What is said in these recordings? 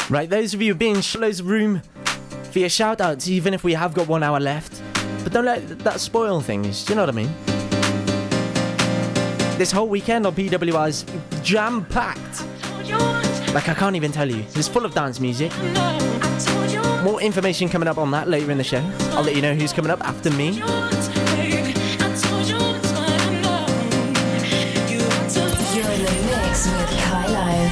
Right, those of you being loads of room for your shout outs, even if we have got 1 hour left. But don't let that spoil things, do you know what I mean? This whole weekend on PWR is jam-packed. Like, I can't even tell you. It's full of dance music. More information coming up on that later in the show. I'll let you know who's coming up after me. You're in the mix with Kylo.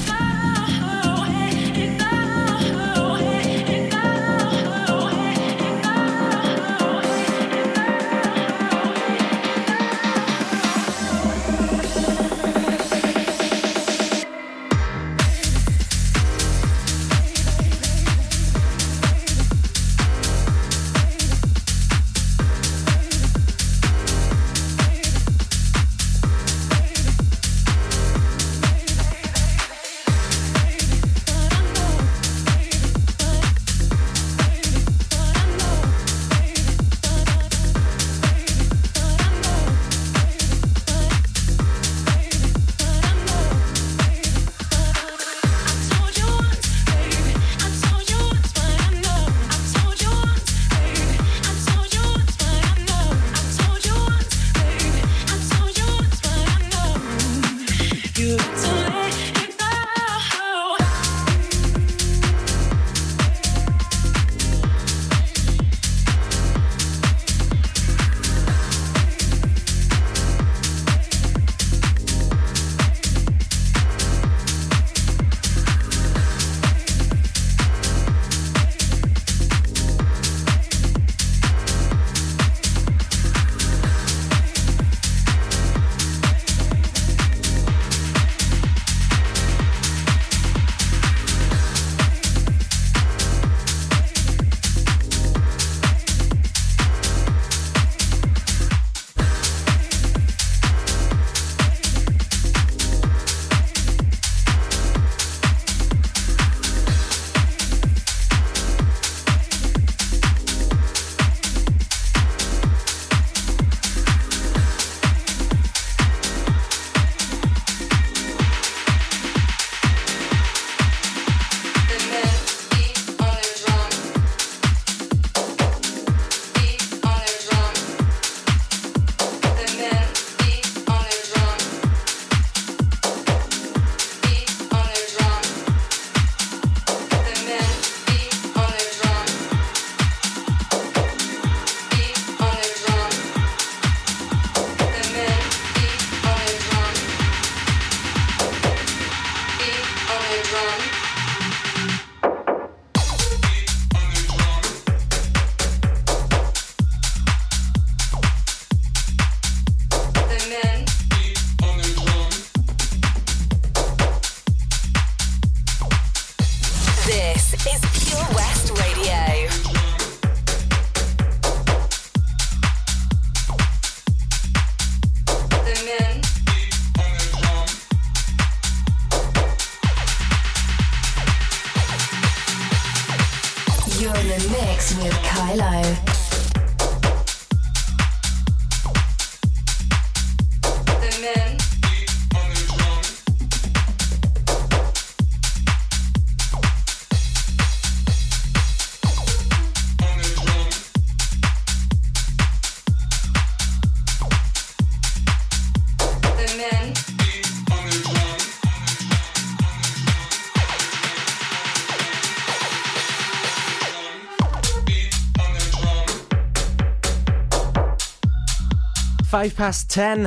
Five past 10.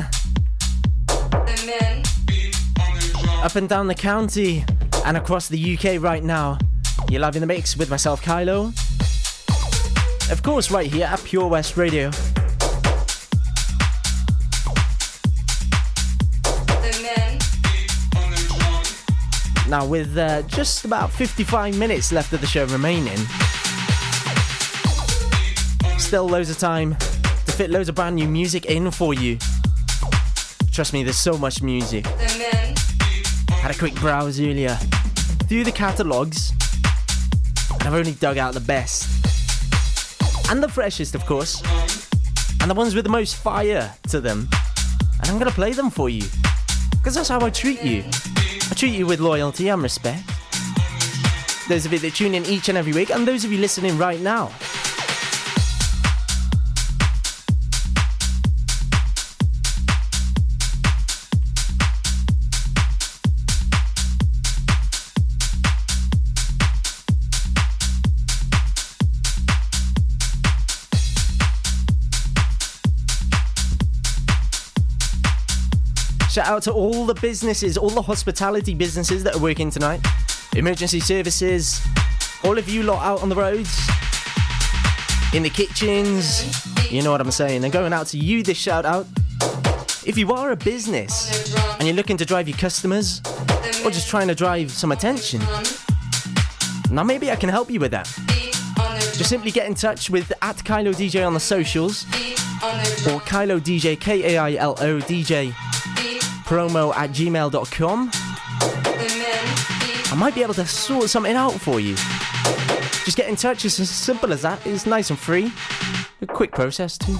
Up and down the county and across the UK right now. You're live in the mix with myself, Kylo. Of course, right here at Pure West Radio. Now, with just about 55 minutes left of the show remaining, still loads of time to fit loads of brand new music in for you. Trust me, there's so much music. Had a quick browse earlier through the catalogues, and I've only dug out the best. And the freshest, of course. And the ones with the most fire to them. And I'm going to play them for you. Because that's how I treat you. I treat you with loyalty and respect. those of you that tune in each and every week, and those of you listening right now. Shout out to all the businesses, all the hospitality businesses that are working tonight. Emergency services, all of you lot out on the roads, in the kitchens, you know what I'm saying. And going out to you, this shout out. If you are a business and you're looking to drive your customers, or just trying to drive some attention, now maybe I can help you with that. Just simply get in touch with @KailoDJ on the socials, or Kailo DJ, Kailo DJ, promo@gmail.com. I might be able to sort something out for you. Just get in touch, it's as simple as that. It's nice and free. A quick process too.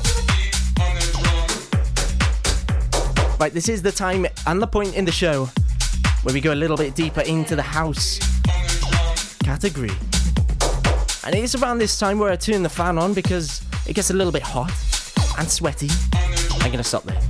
Right, this is the time and the point in the show where we go a little bit deeper into the house category. And it is around this time where I turn the fan on because it gets a little bit hot and sweaty. I'm gonna stop there.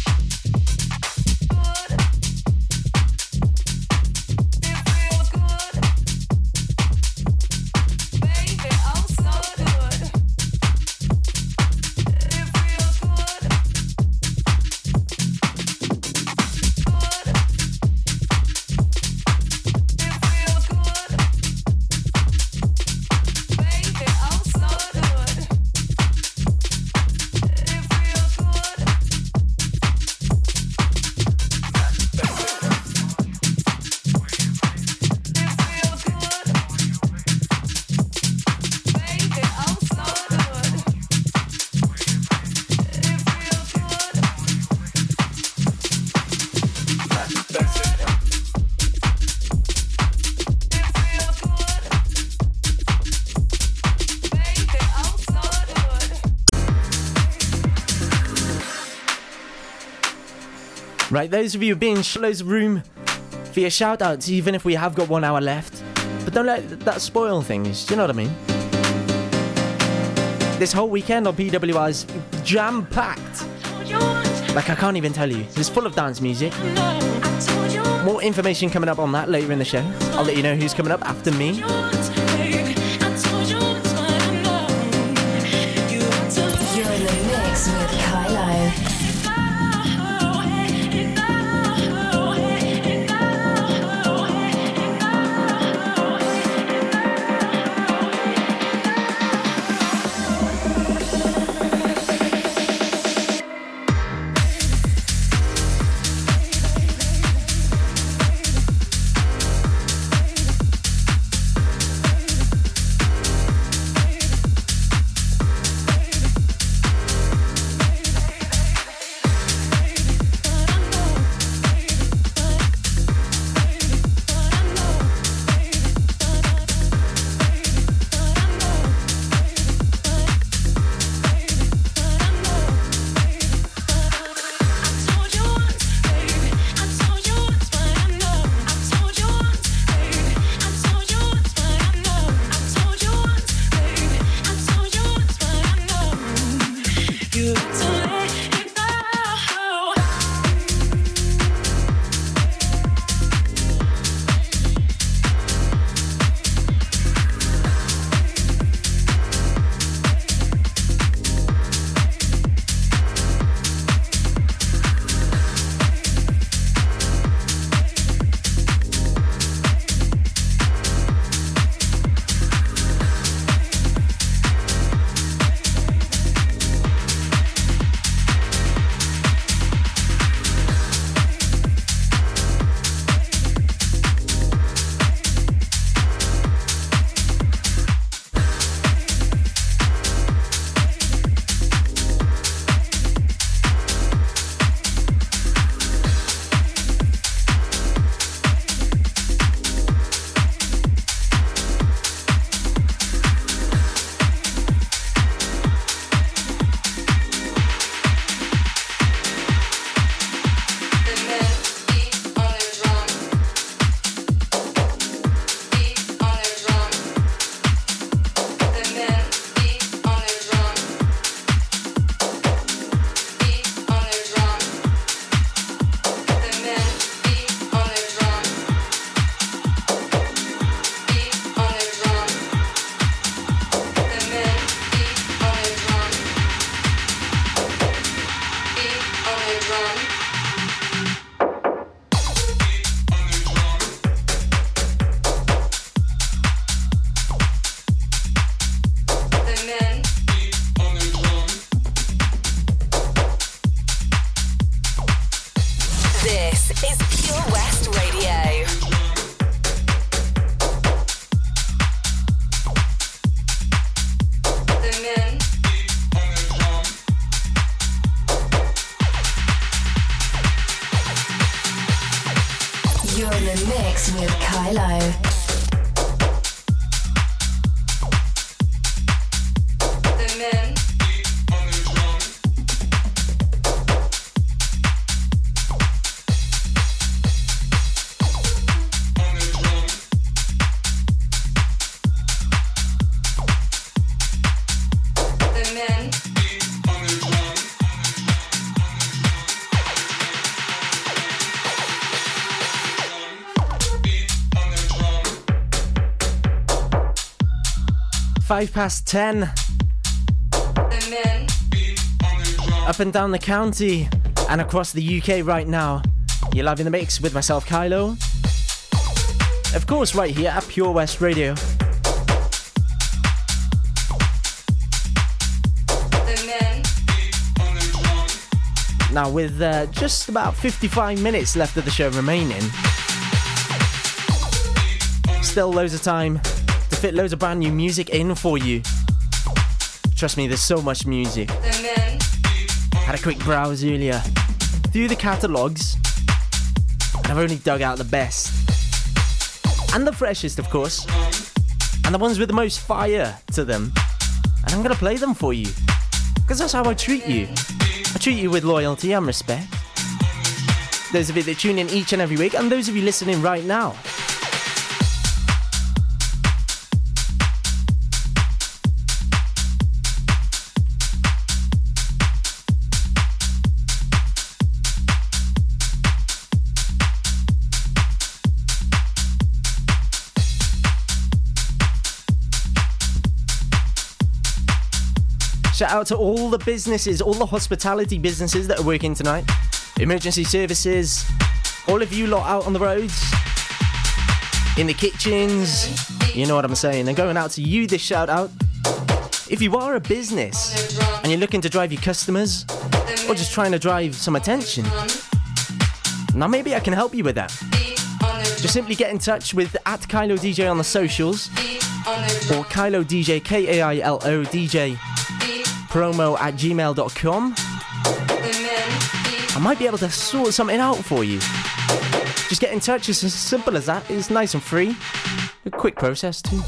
It feels good. Right, those of you being loads of room for your shout outs, even if we have got 1 hour left. But don't let that spoil things, do you know what I mean? This whole weekend on PWR is jam-packed. Like, I can't even tell you. It's full of dance music. More information coming up on that later in the show. I'll let you know who's coming up after me. You're in the mix with Kylo. Past 10. Up and down the county and across the UK right now. You're live in the mix with myself, Kylo. Of course, right here at Pure West Radio. Now, with just about 55 minutes left of the show remaining, still loads of time to fit loads of brand new music in for you. Trust me, there's so much music. Had a quick browse earlier through the catalogues, and I've only dug out the best and the freshest, of course, and the ones with the most fire to them, and I'm gonna play them for you because that's how I treat you. I treat you with loyalty and respect. those of you that tune in each and every week, and those of you listening right now. Shout out to all the businesses, all the hospitality businesses that are working tonight. Emergency services, all of you lot out on the roads, in the kitchens, you know what I'm saying. And going out to you, this shout out. If you are a business and you're looking to drive your customers, or just trying to drive some attention, now maybe I can help you with that. Just simply get in touch with @Kailo DJ on the socials, or Kailo DJ, Kailo DJ, promo@gmail.com. I might be able to sort something out for you. Just get in touch, it's as simple as that. It's nice and free. A quick process too.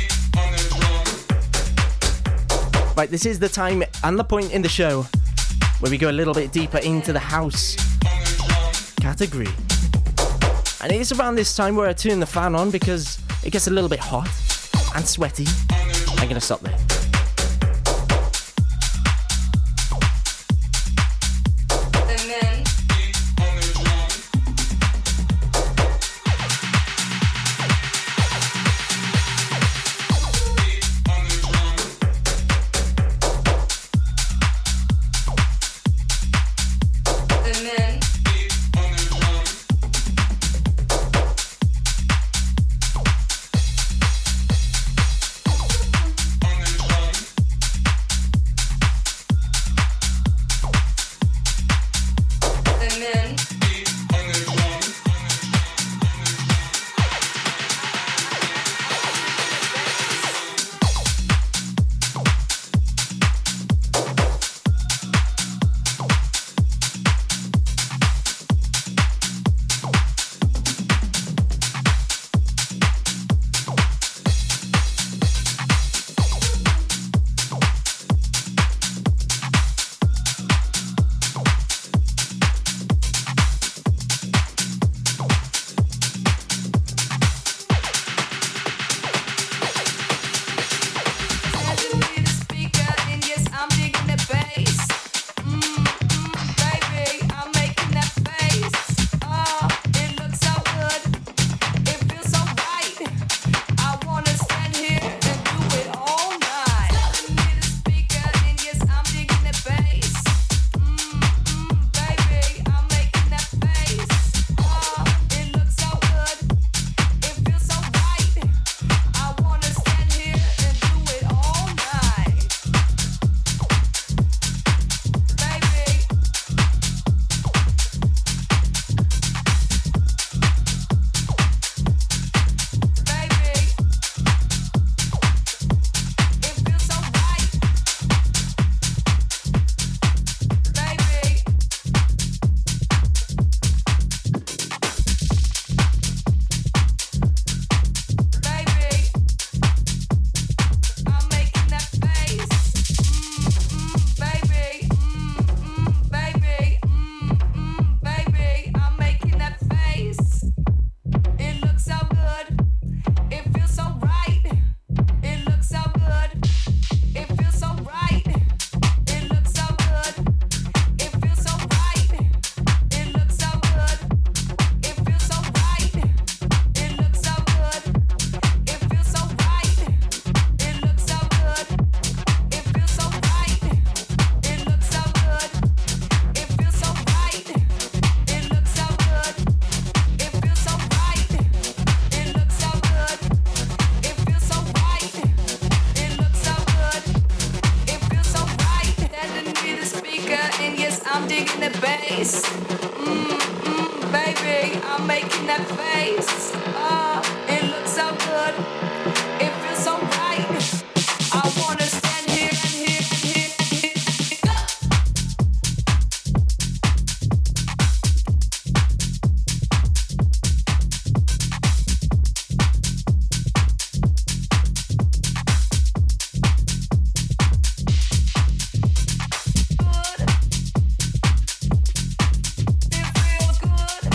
Right, this is the time and the point in the show where we go a little bit deeper into the house category. And it is around this time where I turn the fan on because it gets a little bit hot and sweaty. I'm gonna stop there. It feels good.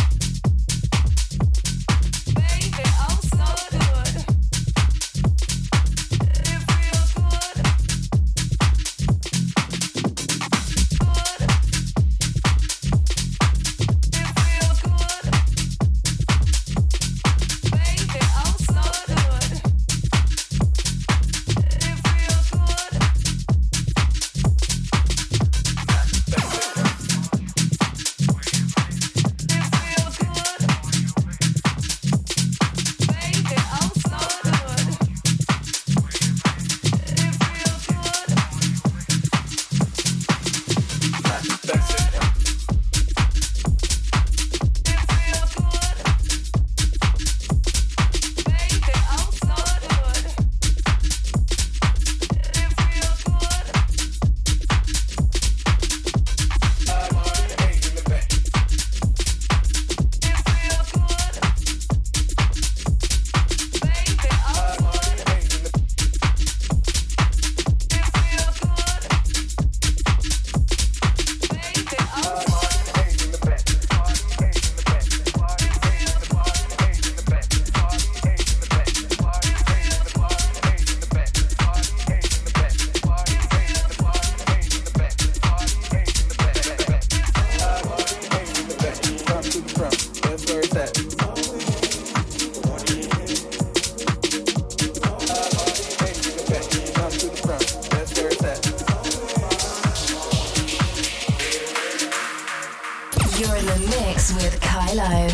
Kylo.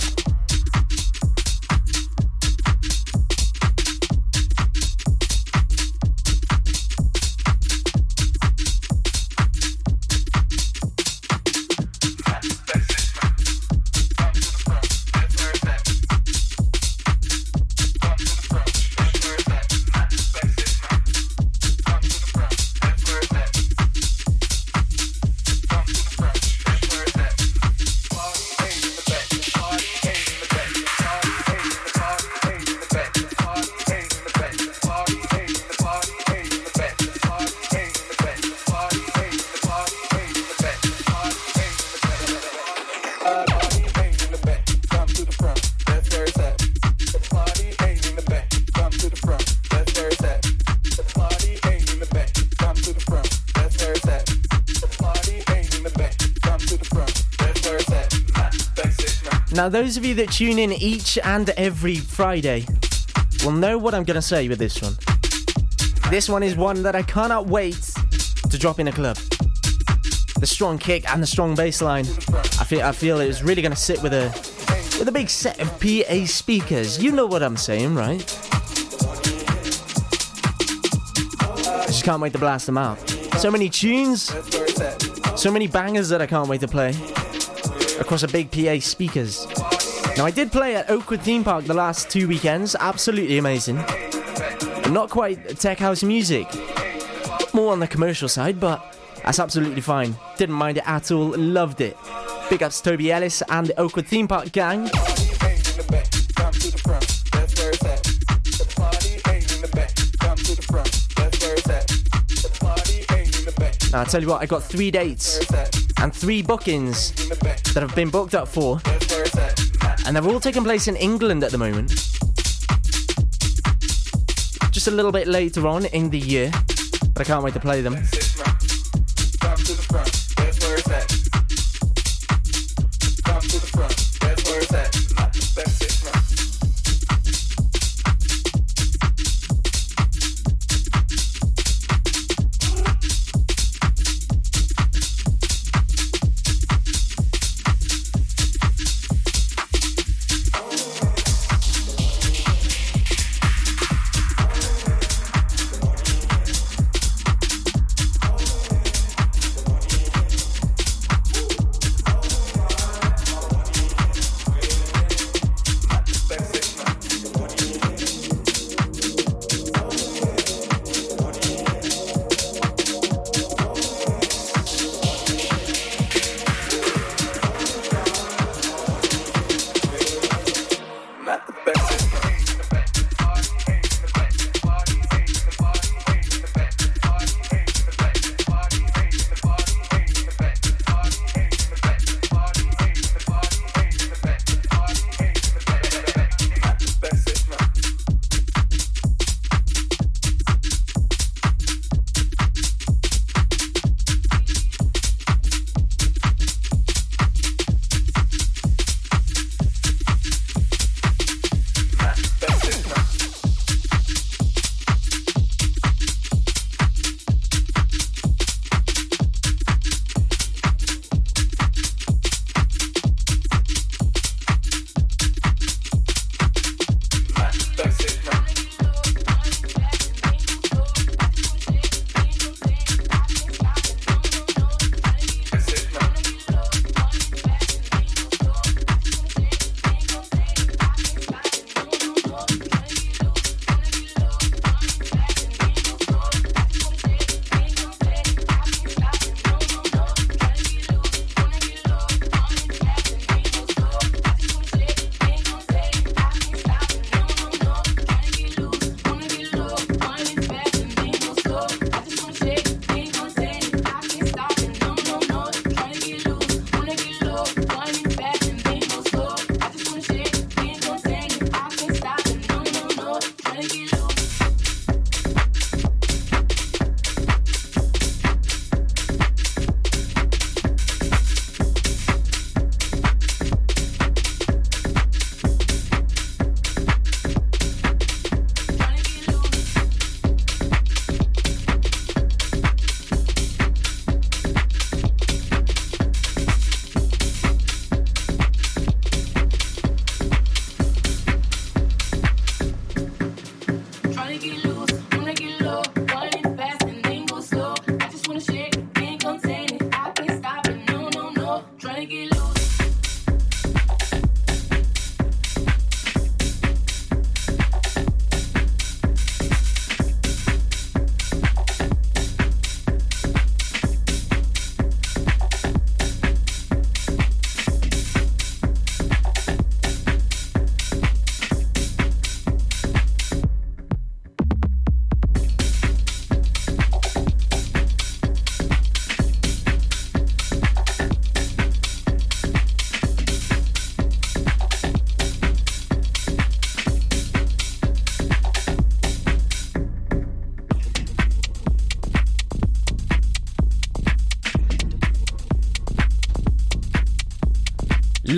Now, those of you that tune in each and every Friday will know what I'm going to say with this one. This one is one that I cannot wait to drop in a club. The strong kick and the strong bass line. I feel it's really going to sit with a big set of PA speakers. You know what I'm saying, right? I just can't wait to blast them out. So many tunes, so many bangers that I can't wait to play across a big PA speakers. Now, I did play at Oakwood Theme Park the last 2 weekends. Absolutely amazing. Not quite tech house music. More on the commercial side, but that's absolutely fine. Didn't mind it at all. Loved it. Big ups to Toby Ellis and the Oakwood Theme Park gang. Now, I'll tell you what, I got 3 dates and 3 bookings that have been booked up for, and they're all taking place in England at the moment. Just a little bit later on in the year, but I can't wait to play them.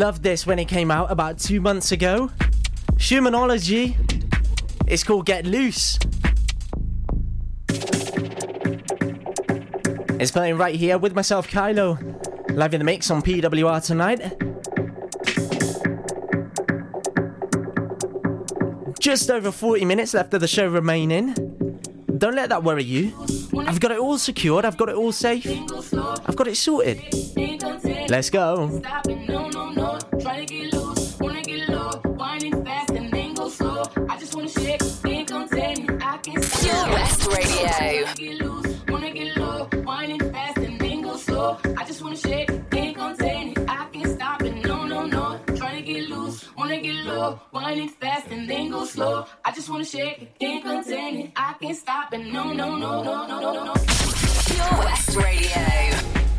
Loved this when it came out about 2 months ago. Schumannology. It's called Get Loose. It's playing right here with myself, Kylo, live in the mix on PWR tonight. Just over 40 minutes left of the show remaining. Don't let that worry you. I've got it all secured, I've got it all safe, I've got it sorted. Let's go. Pure West Radio. I just wanna shake, can't contain it. I can't stop it, no, no, no. Trying to get loose, wanna get low. Winding fast and then go slow. I just wanna shake it, can't contain it. I can't stop it, no, no, no, no, no, no, no. Pure West Radio.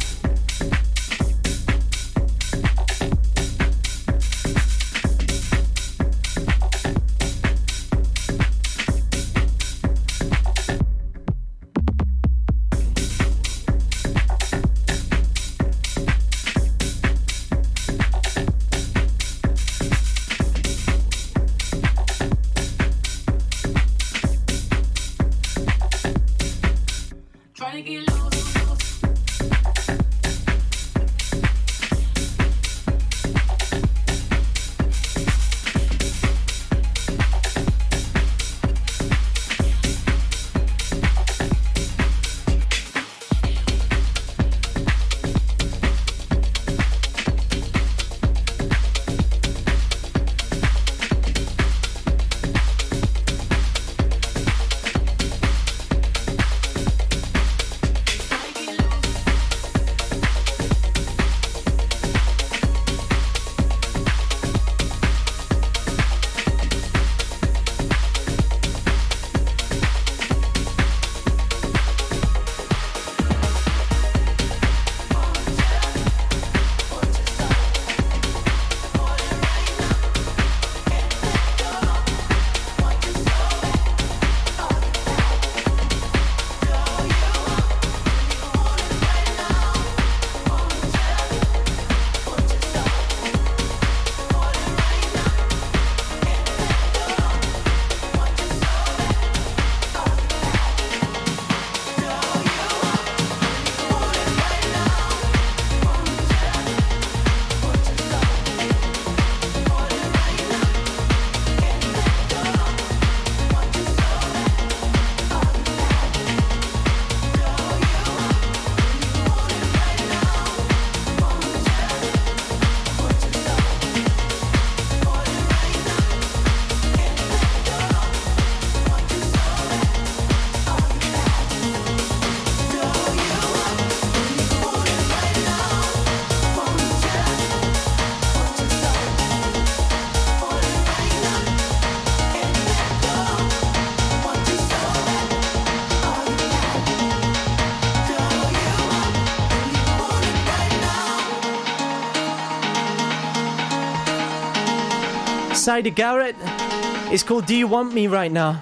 Cider Garrett. It's called Do You Want Me Right Now.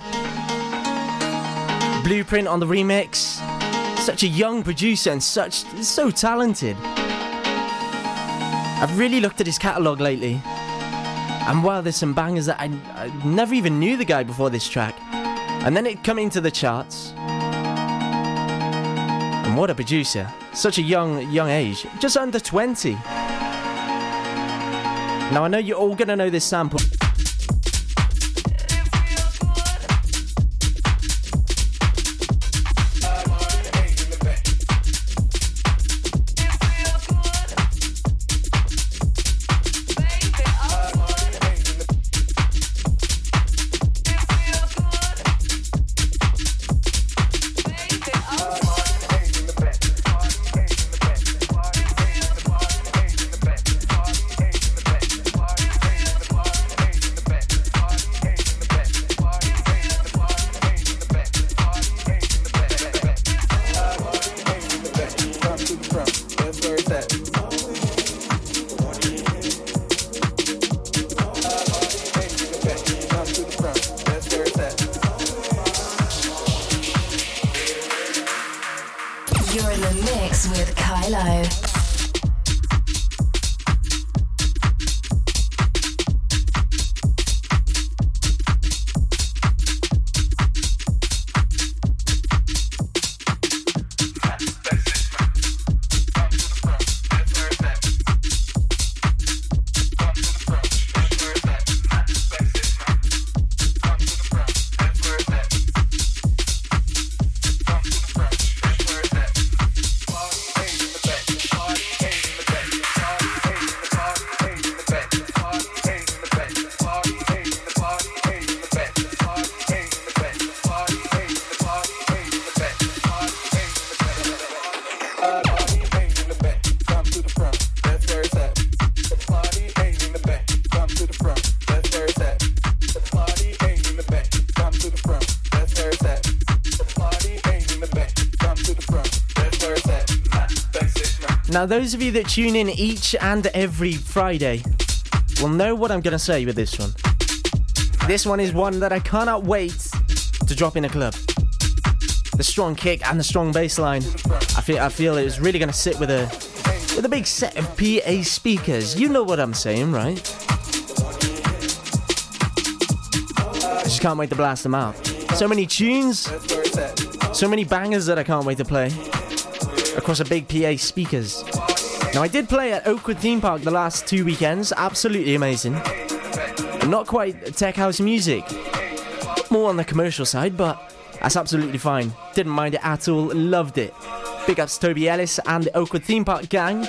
Blueprint on the remix. Such a young producer and so talented. I've really looked at his catalogue lately. And wow, there's some bangers that I never even knew the guy before this track. And then it come into the charts. And what a producer. Such a young age. Just under 20. Now I know you're all gonna know this sample. You're in the mix with Kylo. Now, those of you that tune in each and every Friday will know what I'm going to say with this one. This one is one that I cannot wait to drop in a club. The strong kick and the strong bass line. I feel it was really going to sit with a big set of PA speakers. You know what I'm saying, right? I just can't wait to blast them out. So many tunes, so many bangers that I can't wait to play across a big PA speakers. Now, I did play at Oakwood Theme Park the last 2 weekends. Absolutely amazing. Not quite tech house music. More on the commercial side, but that's absolutely fine. Didn't mind it at all. Loved it. Big ups to Toby Ellis and the Oakwood Theme Park gang.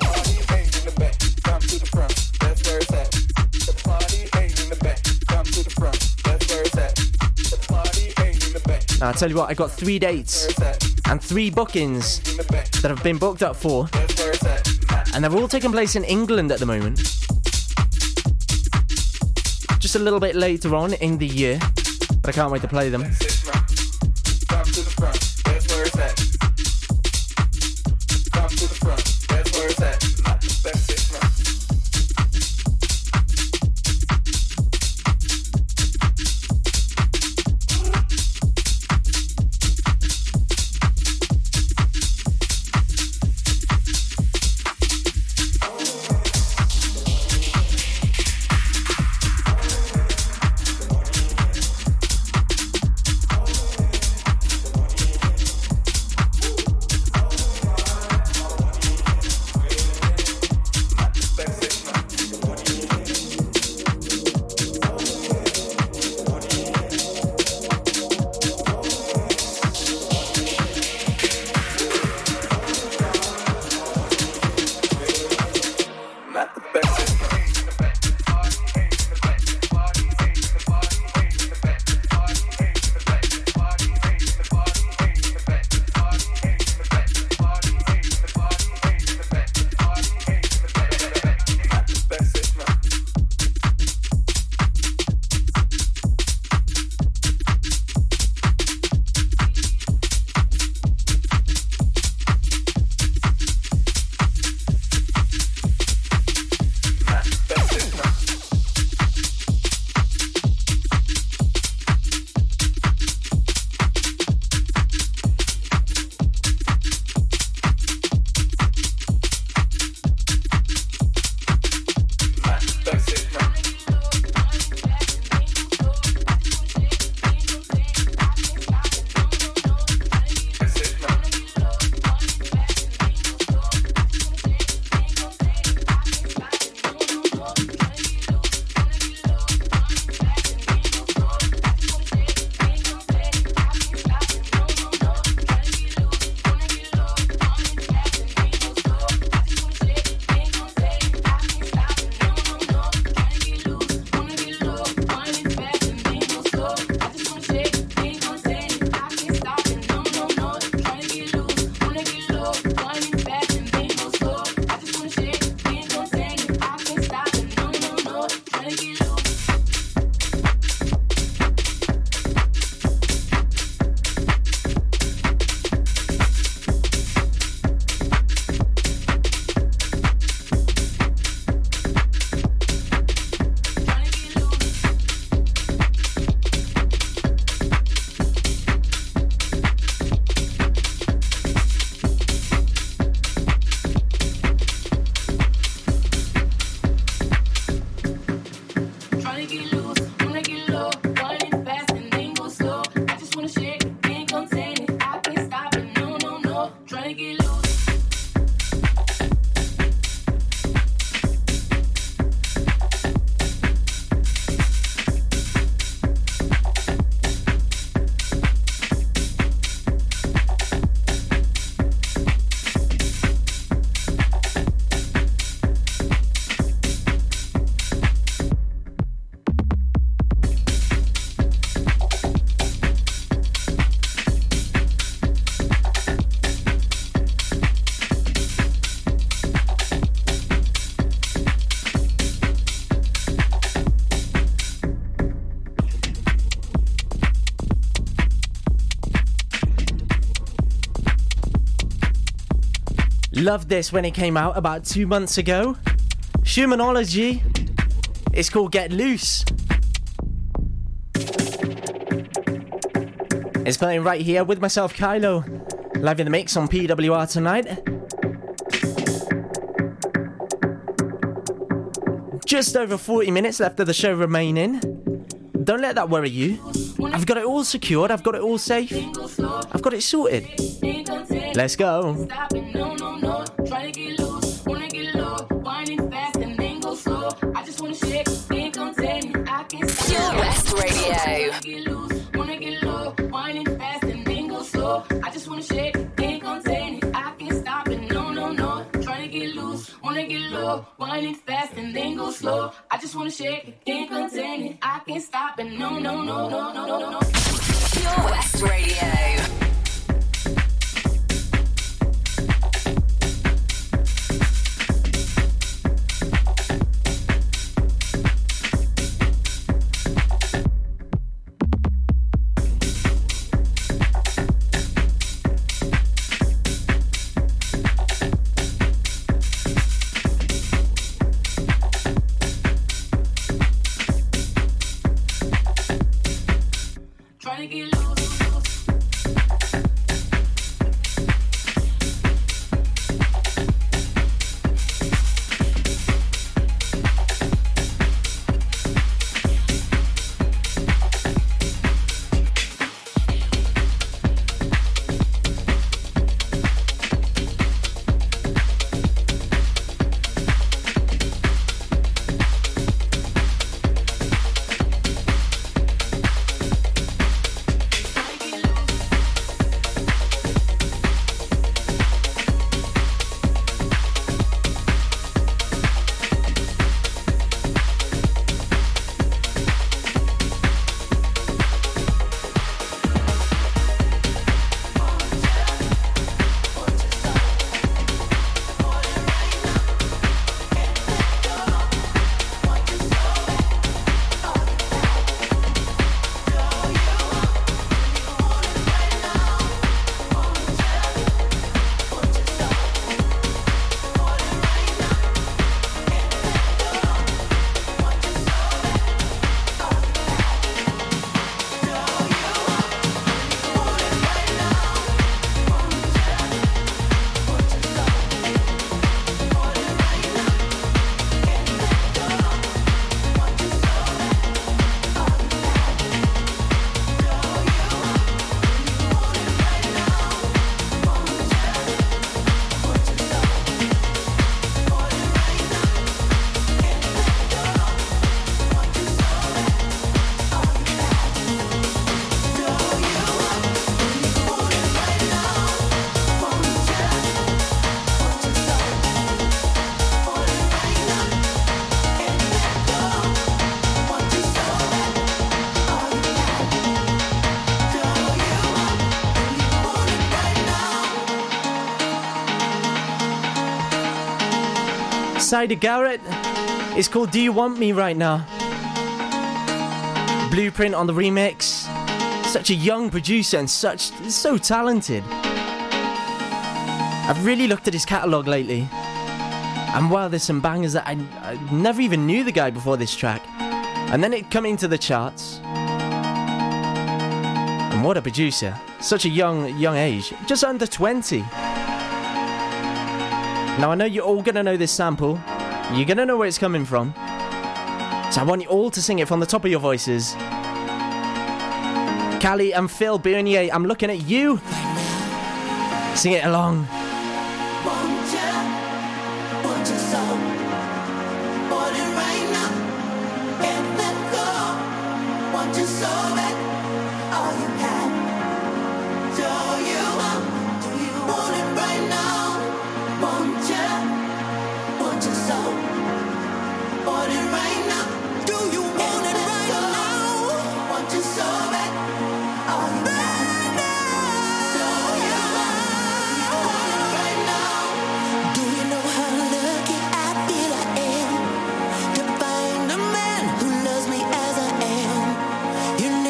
Now, I tell you what, I got 3 dates and 3 bookings that have been booked up for, and they're all taking place in England at the moment. Just a little bit later on in the year, but I can't wait to play them. Loved this when it came out about 2 months ago. Humanology. It's called Get Loose. It's playing right here with myself, Kylo, live in the mix on PWR tonight. Just over 40 minutes left of the show remaining. Don't let that worry you. I've got it all secured, I've got it all safe. I've got it sorted. Let's go. Pure West Radio. I just wanna shake, can't contain it. I can't stop it, no, no, no. Trying to get loose, wanna get low, winding fast and then go slow. I just wanna shake it, can't contain it. I can't stop it, no, no, no, no, no, no, no. Pure West Radio. Cider Garrett. It's called Do You Want Me Right Now. Blueprint on the remix. Such a young producer and so talented. I've really looked at his catalogue lately. And wow, there's some bangers that I never even knew the guy before this track. And then it come into the charts. And what a producer. Such a young age. Just under 20. Now I know you're all going to know this sample. You're going to know where it's coming from. So I want you all to sing it from the top of your voices. Callie and Phil Bernier, I'm looking at you. Sing it along. You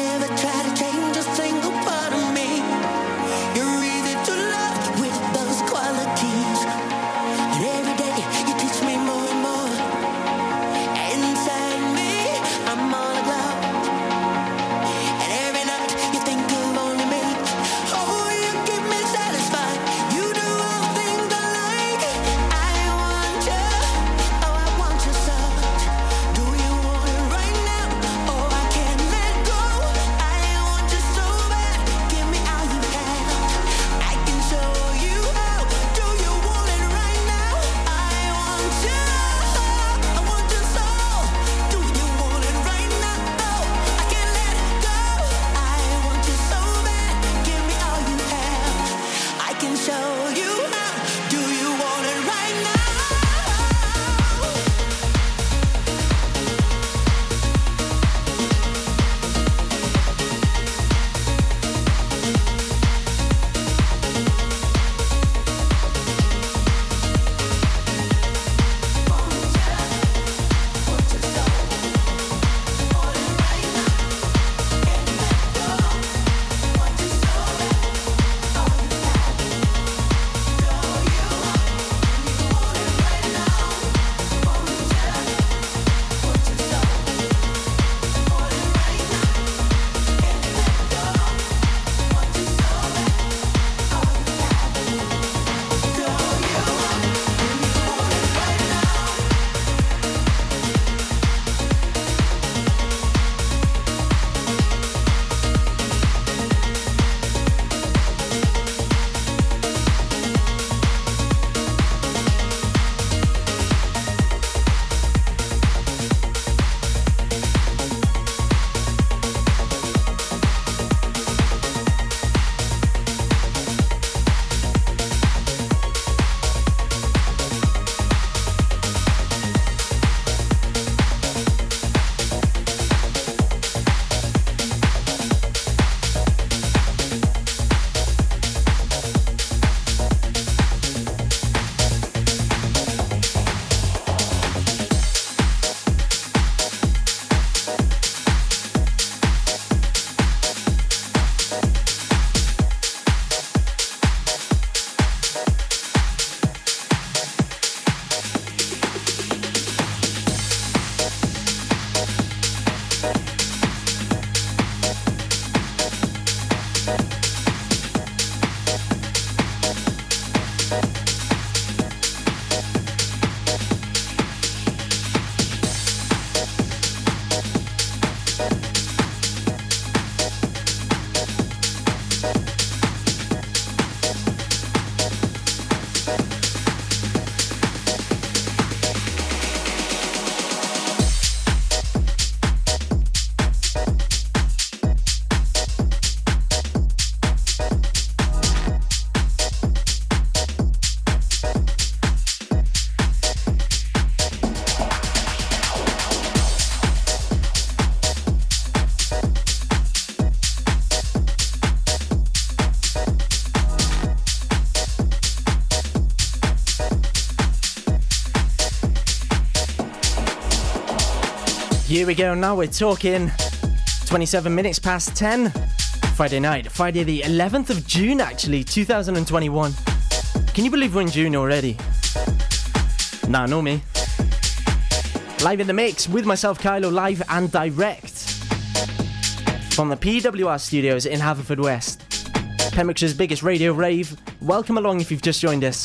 Here we go, now we're talking 27 minutes past 10. Friday night, Friday the 11th of June actually, 2021. Can you believe we're in June already? Nah, no me. Live in the mix with myself, Kylo, live and direct from the PWR studios in Haverfordwest. Pembrokeshire's biggest radio rave. Welcome along if you've just joined us.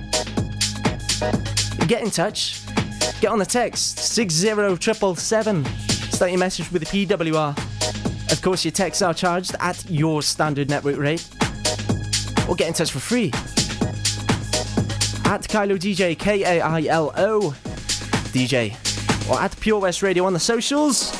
Get in touch. Get on the text 60777. Start your message with the PWR. Of course, your texts are charged at your standard network rate. Or get in touch for free. At Kylo DJ, Kailo DJ. Or at Pure West Radio on the socials.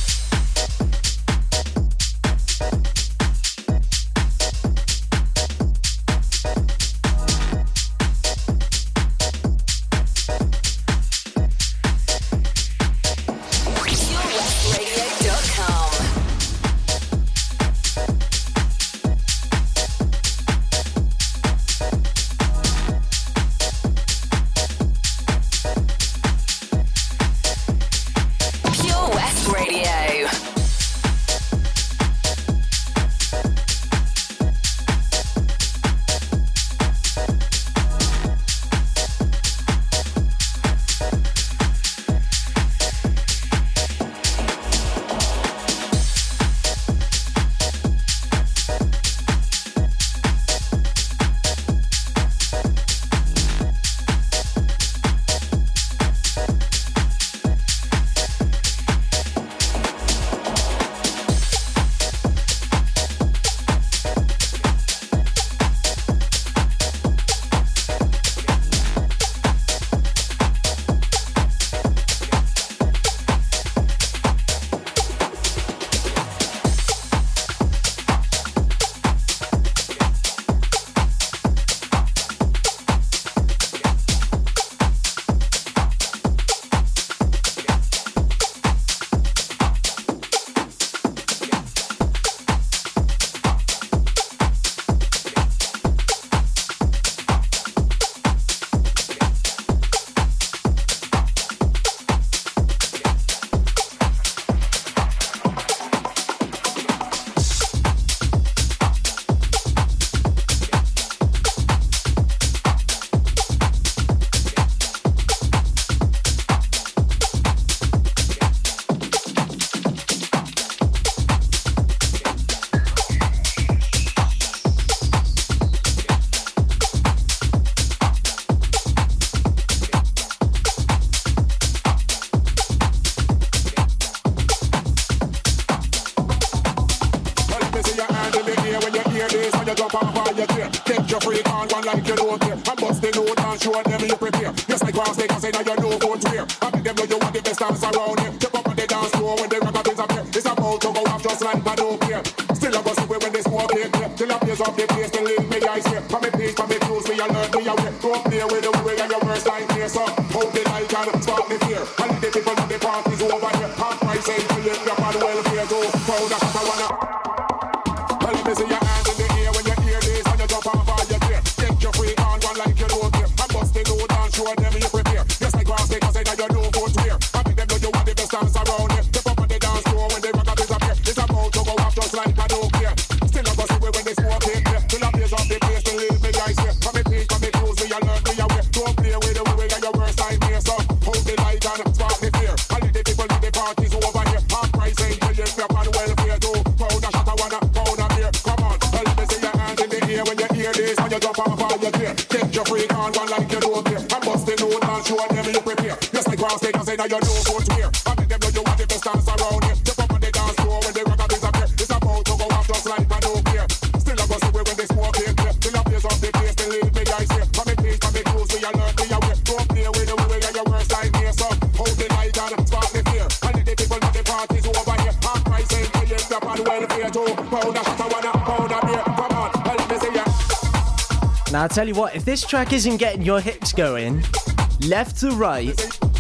Now I'll tell you what, if this track isn't getting your hips going, left to right,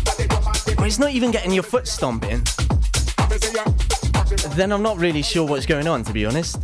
or it's not even getting your foot stomping, then I'm not really sure what's going on, to be honest.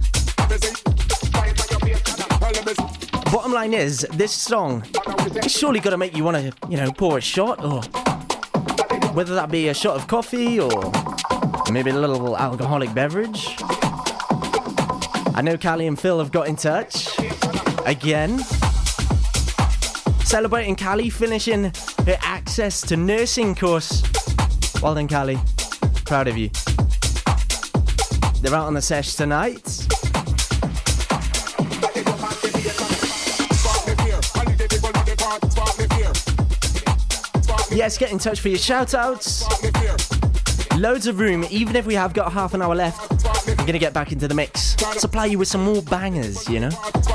Bottom line is, this song, it's surely got to make you want to, pour a shot, or whether that be a shot of coffee or maybe a little alcoholic beverage. I know Callie and Phil have got in touch again. Celebrating Callie finishing her access to nursing course. Well done, Callie. Proud of you. They're out on the sesh tonight. Yes, get in touch for your shout-outs. Loads of room, even if we have got half an hour left. I'm going to get back into the mix. Supply you with some more bangers, you know?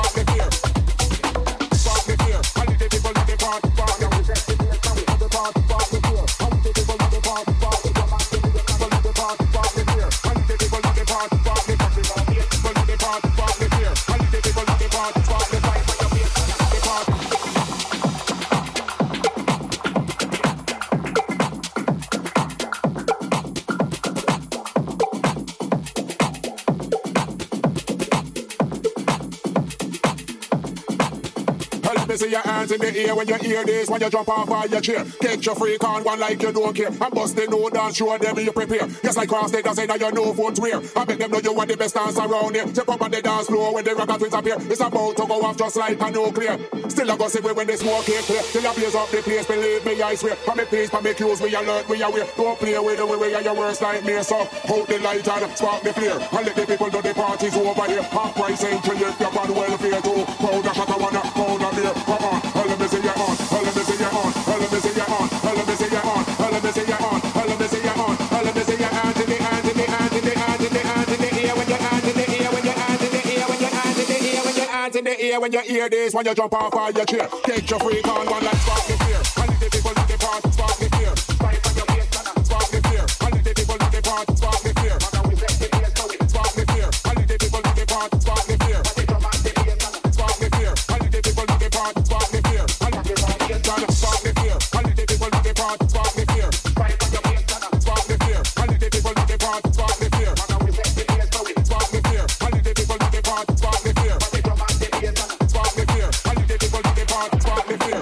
See your hands in the air when you hear this. When you jump off of your chair, catch your freak on one like you don't care. And bust the no dance, show them you prepare. Just like cross they say that you know phones wear. I make them know you are the best dance around here. Step up on the dance floor when the rocket twins appear. It's about to go off just like a nuclear. Still I go see when they smoke it clear. Till you blaze up the place, believe me I swear. For me peace, for me cues, we alert, we aware. Don't play with the way your worst nightmare. So hold the light and spark the flare. And let the people know the party's over here. Half price entry if you're on welfare too. Powder shot I wanna, powder beer. Come on, let me see you on, let me see you on, let me see you on, let me see you on, let me see you on, let me see you on, let me see your hands in the hands in the hands in the hands in the hands in the air when your hands in the air when your hands in the air when your hands in the air when your hands in the air when you hear this when you jump off of your chair. Take your freak on one like spark the fear. And the people in the party spark the fear. Fight on your face, spark the fear. And the people in the party spark the fear. Spark the fear. And the people in the party spark the fear. Spark the fear. And the people in the party spark the fear. Spark the fear. And the people in the party spark the fear. Spark the fear. And the people in the party spark the fear. Spark the fear. And the people in the party spark the fear. Spark the fear. And the people in the party spark the fear.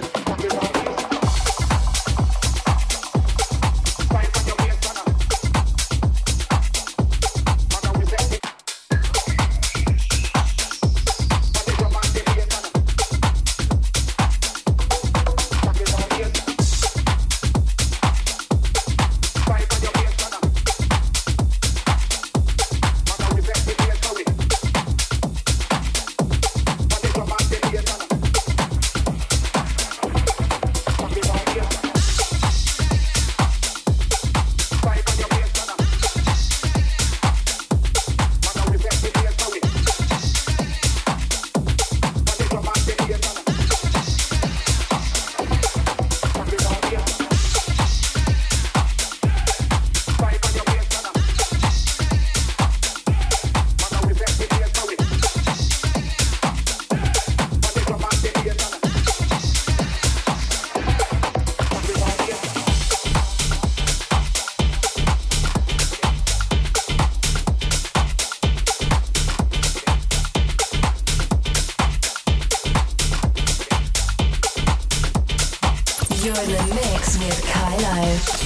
You're in the mix with Kylo.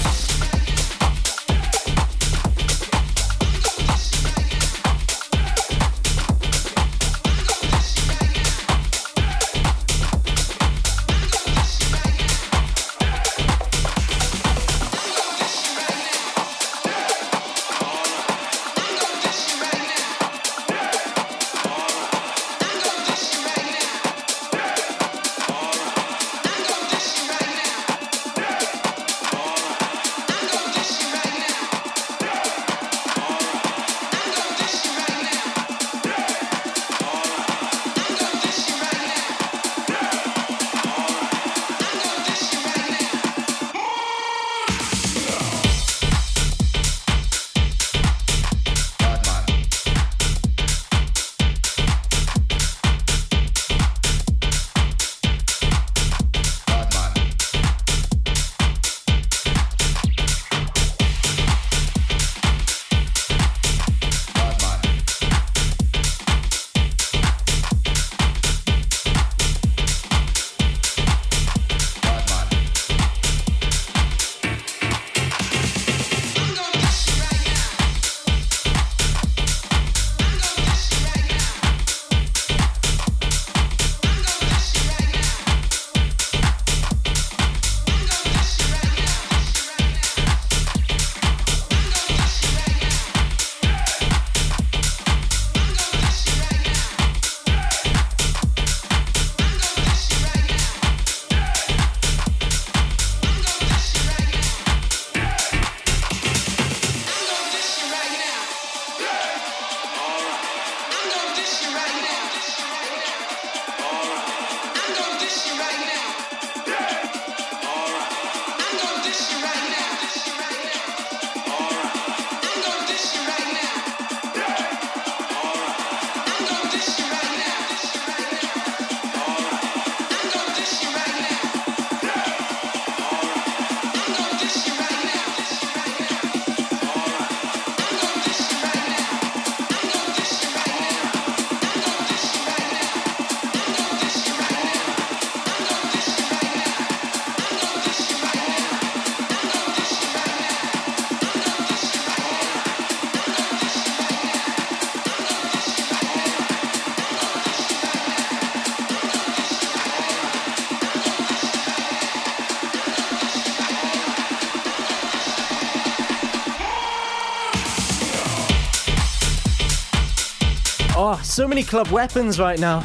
Oh, so many club weapons right now.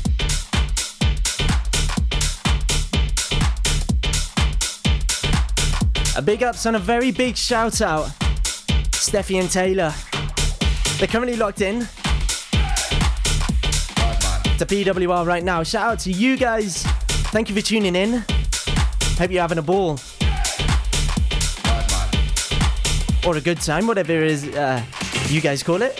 A big ups and a very big shout out, Steffi and Taylor. They're currently locked in to PWR right now. Shout out to you guys. Thank you for tuning in. Hope you're having a ball. Or a good time, whatever it is you guys call it.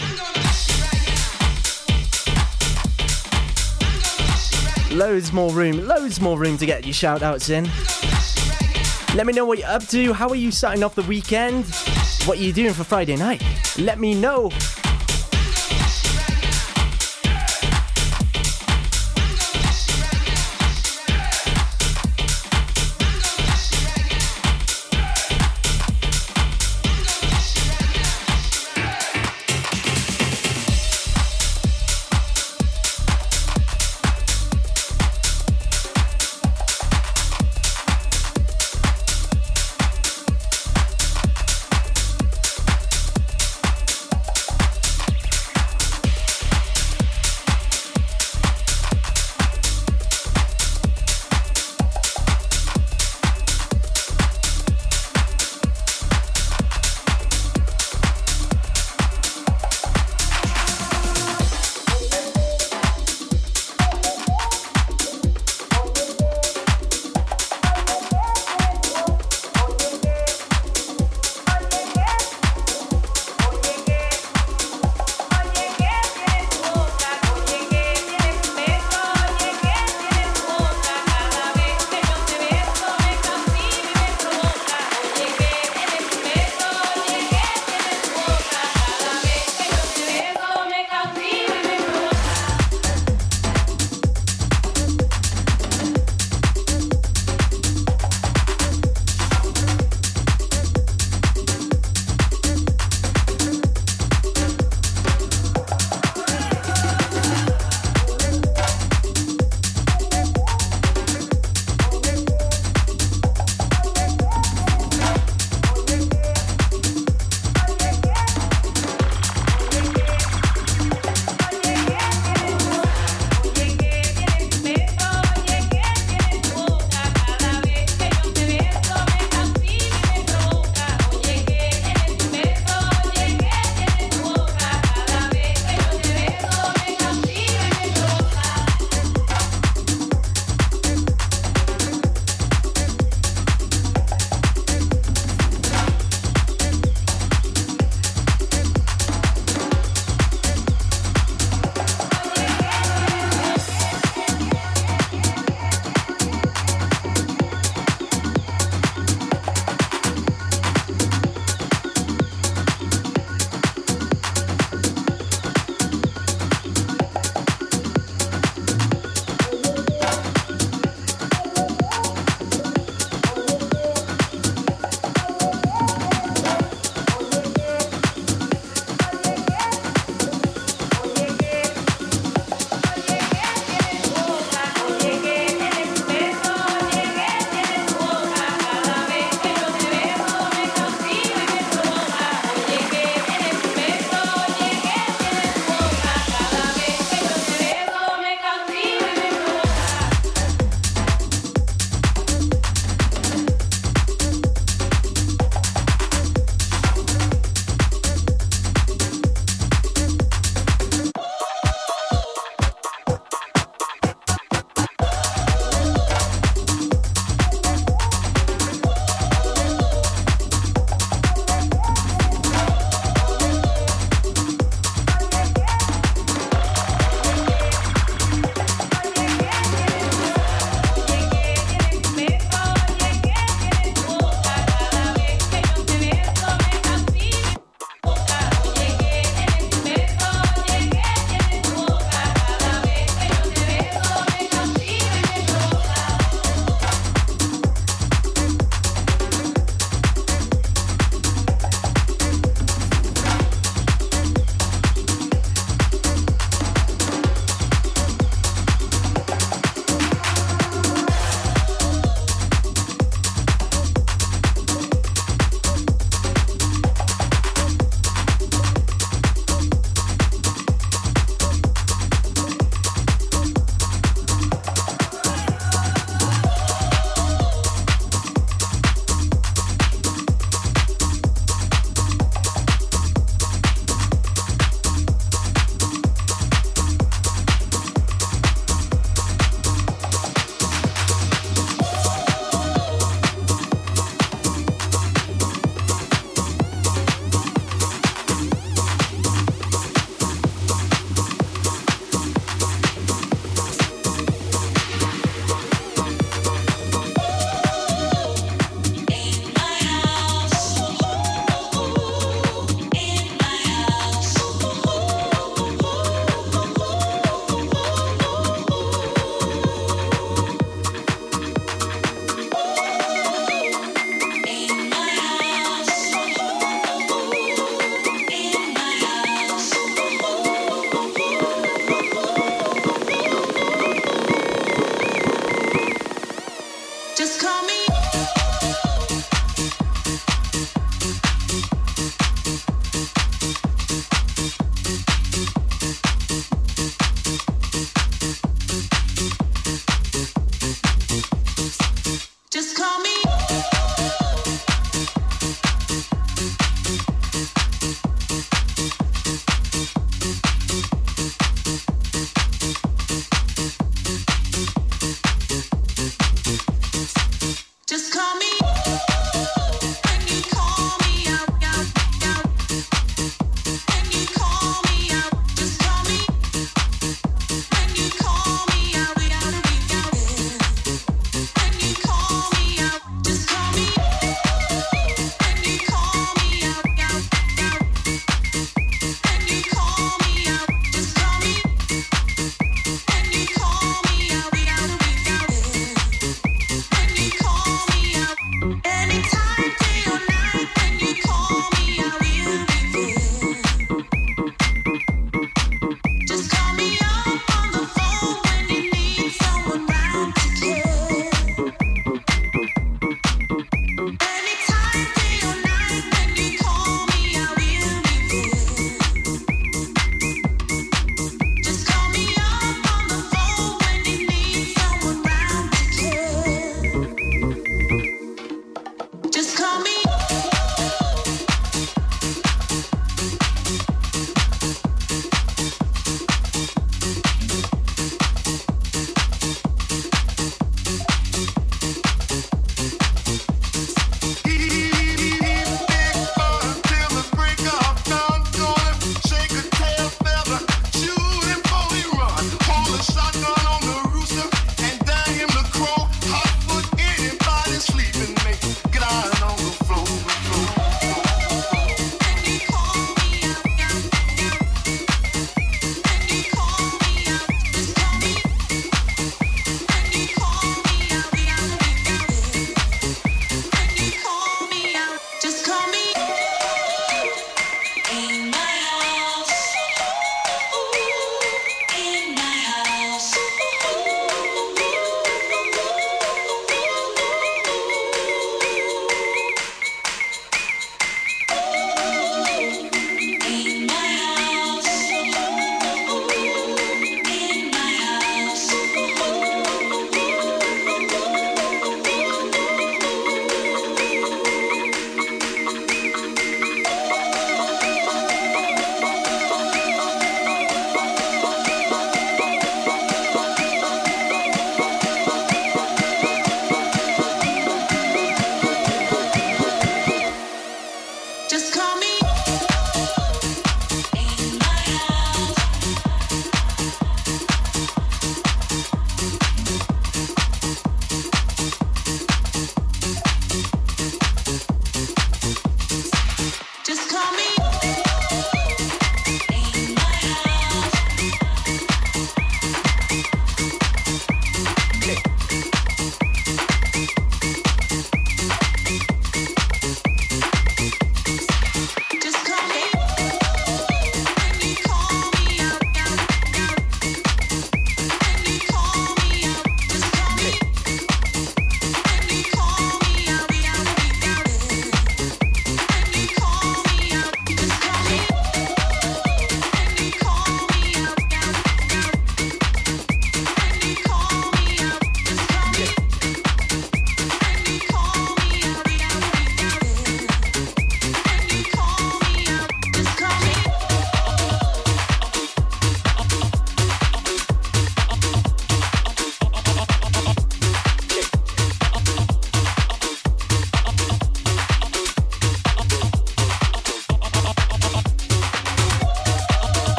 Loads more room to get your shout outs in. Let me know what you're up to. How are you starting off the weekend? What are you doing for Friday night? Let me know.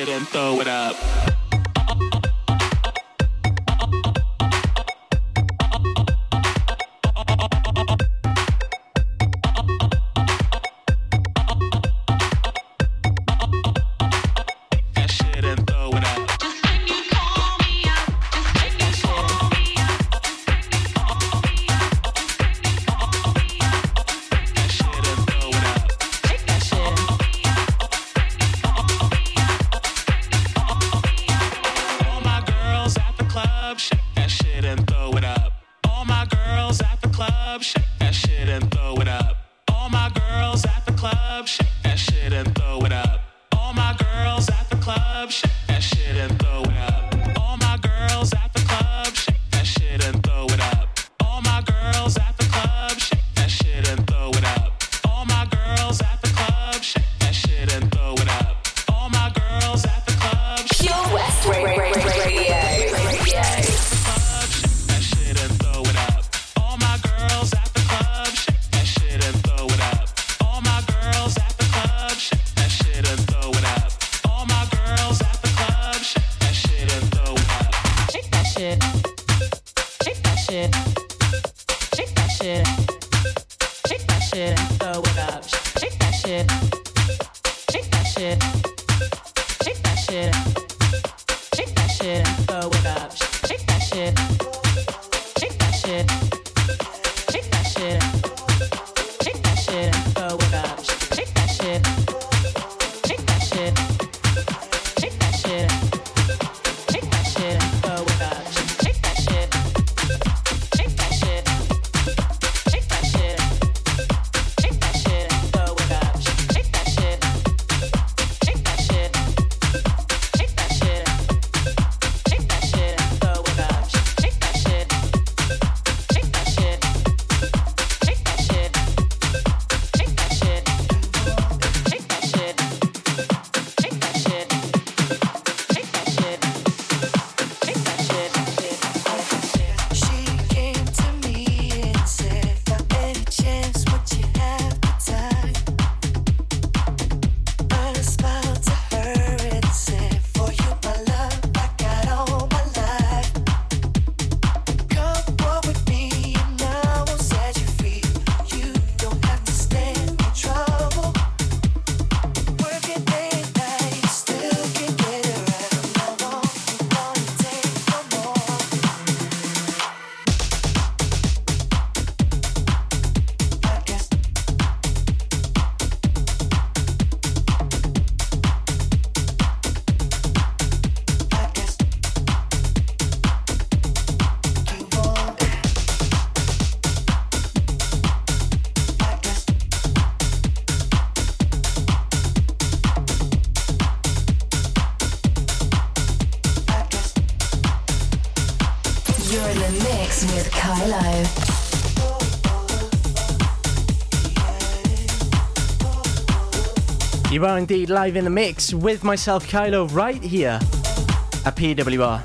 shit and throw it up. You are indeed live in the mix with myself, Kylo, right here at PWR.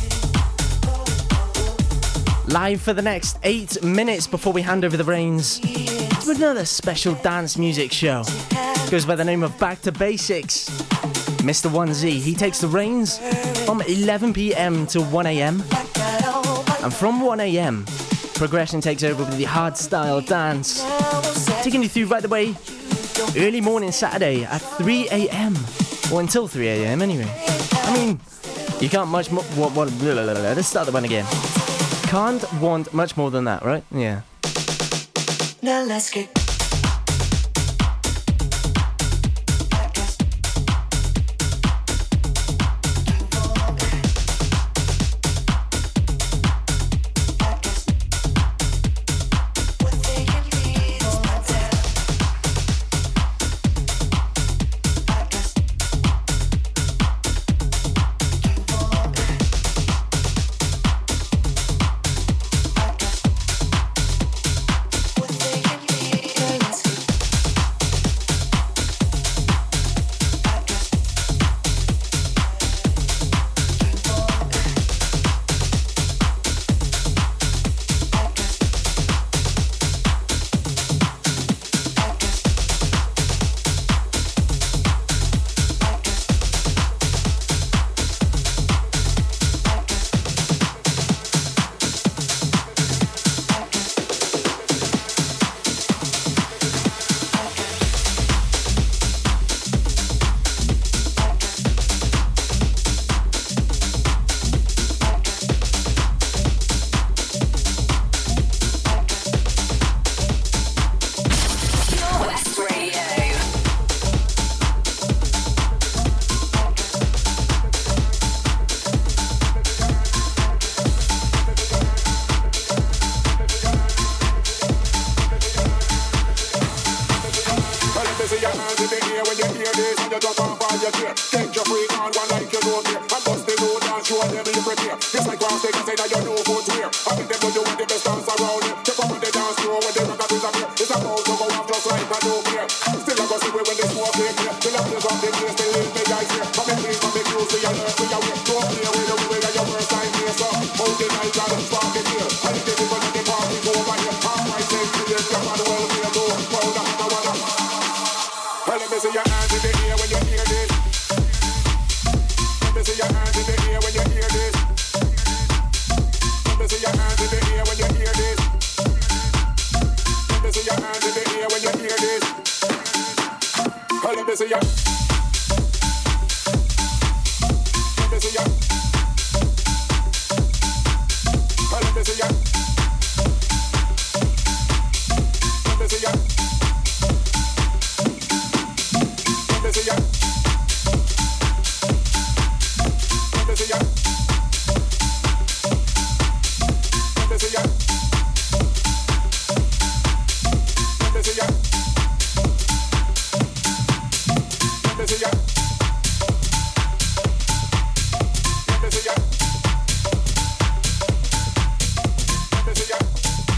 Live for the next 8 minutes before we hand over the reins to another special dance music show. Goes by the name of Back to Basics. Mr. 1Z, he takes the reins from 11 p.m. to 1 a.m. And from 1 a.m, progression takes over with the hardstyle dance, taking you through right the way early morning Saturday at 3 a.m. or until 3 a.m. anyway. I mean, you can't much more. Let's start the one again. Can't want much more than that, right? Yeah. Now let's get. your chair. Take your freak on one like you don't care. And bust the load and show them you prepare. It's like cross take and say that you know footwear. I think them know you want the best dance around here. Take up on the dance floor when the rock up is up here. It's about to go off just like I don't care. Still I go see when the smoke clear clear. Till I play from the place, they leave me eyes here. Come and please, come and close, see you learn, see you wear. Don't play with the way that your first time here. So hold the night and spark it here. And if they want the party go over here. Half my say clear, come on, well, clear, go. Hold on, now, well, let me see your hands in the air when you hear this. Let me see your hands in the air when you hear this. Let me see your hands in the air when you hear this. Let me see your hands in the air when you hear this. Let me see your. Let me see your. Let me see your. Let me see your. Let me see ya. Let me see ya. Let me see ya. Let me see ya. Let me see ya. Let me see ya. Let me see ya.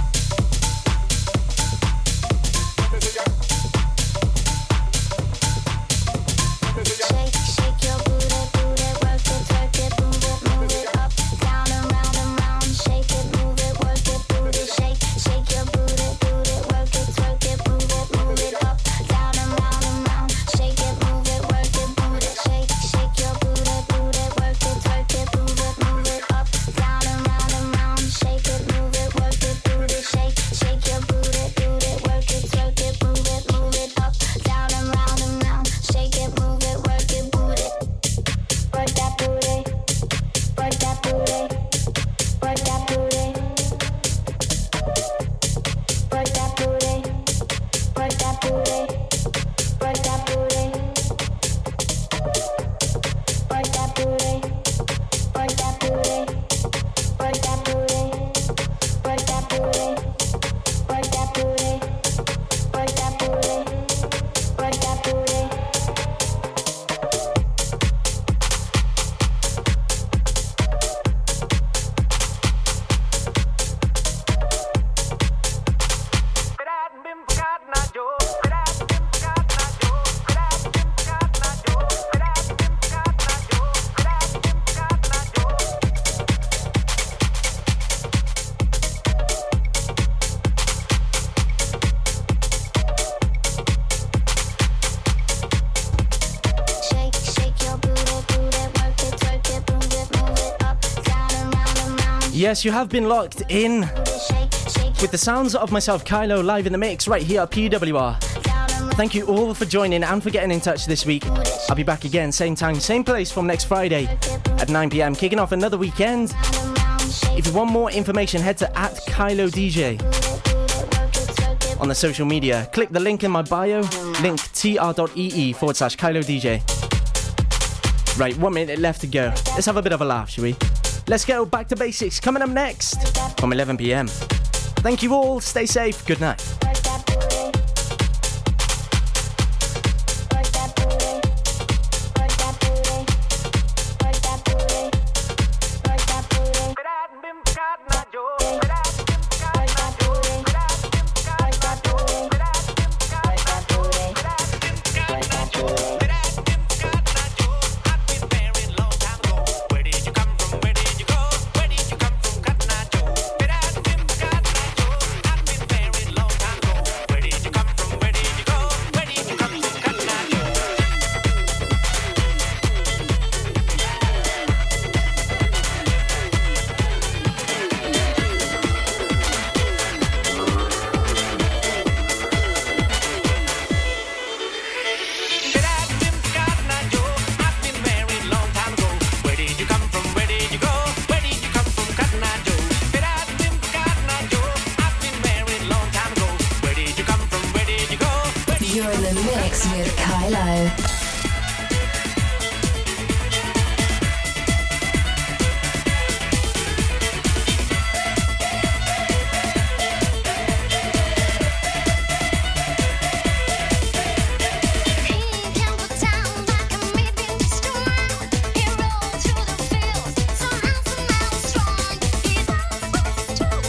Yes, you have been locked in with the sounds of myself, Kylo, live in the mix right here at PWR. Thank you all for joining and for getting in touch this week. I'll be back again, same time, same place from next Friday at 9 p.m, kicking off another weekend. If you want more information, head to @KyloDJ on the social media. Click the link in my bio, link tr.ee/KyloDJ. Right, 1 minute left to go. Let's have a bit of a laugh, shall we? Let's go back to basics. Coming up next from 11 p.m. Thank you all. Stay safe. Good night. You're in the mix with Kylo.